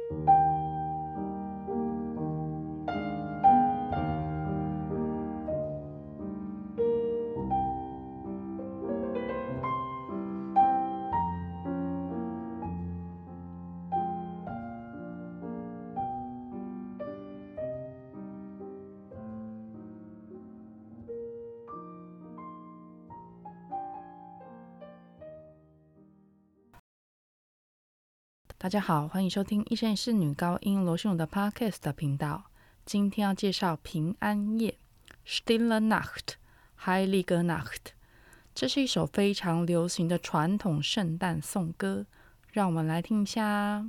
大家好，欢迎收听一生一世女高音罗秀的 Podcast 的频道。今天要介绍平安夜 Stille Nacht Heilige Nacht， 这是一首非常流行的传统圣诞颂歌，让我们来听一下。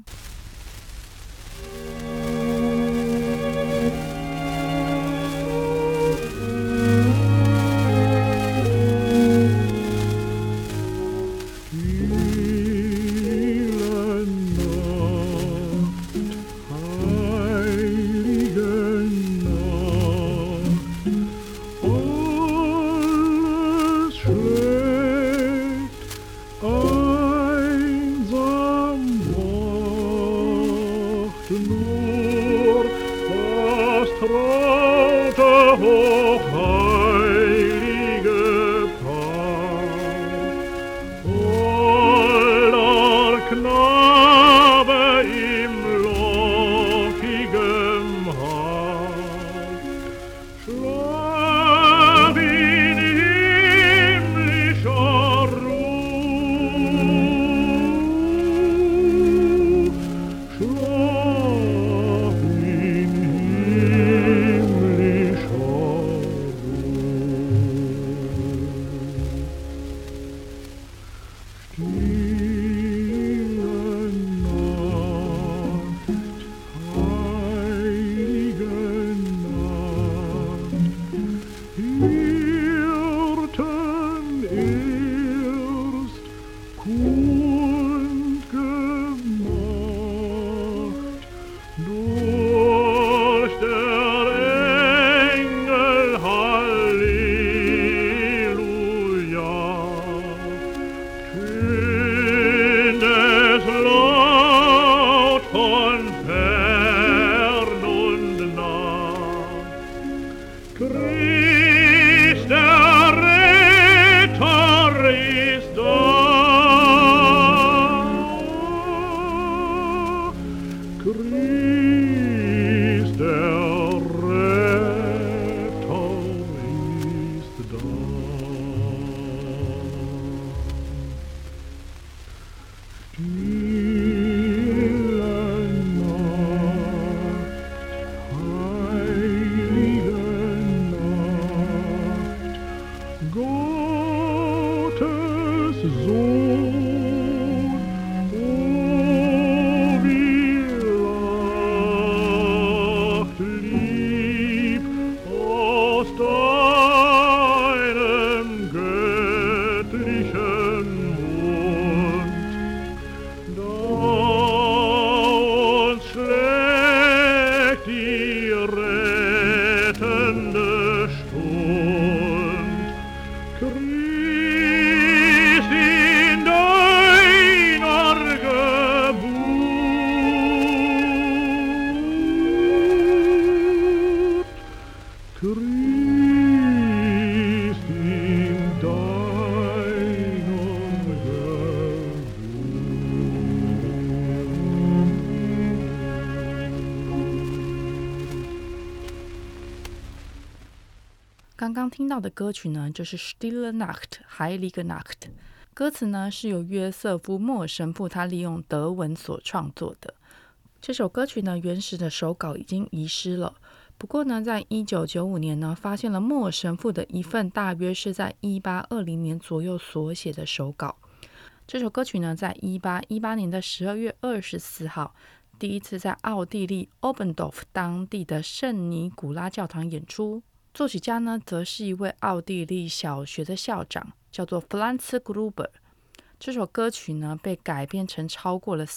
刚刚听到的歌曲呢，就是 Stille Nacht Heilige Nacht， 歌词呢是由约瑟夫·莫尔神父他利用德文所创作的。这首歌曲呢，原始的手稿已经遗失了，不过呢，在1995年呢，发现了莫尔神父的一份大约是在1820年左右所写的手稿。这首歌曲呢，在1818年的12月24号，第一次在奥地利 Oberndorf 当地的圣尼古拉教堂演出。作曲家呢，则是一位奥地利小学的校长，叫做 Franz Gruber。这首歌曲呢，被改编成超过了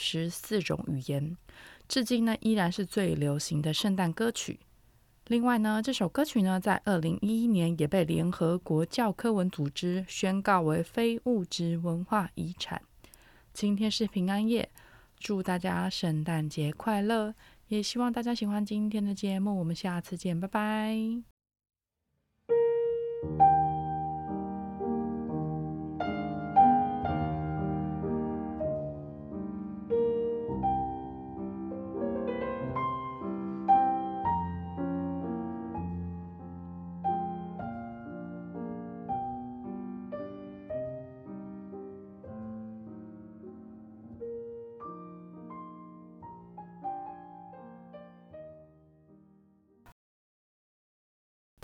44种语言，至今呢，依然是最流行的圣诞歌曲。另外呢，这首歌曲呢，在2011年也被联合国教科文组织宣告为非物质文化遗产。今天是平安夜， 祝大家圣诞节快乐，也希望大家喜欢今天的节目，我们下次见，拜拜。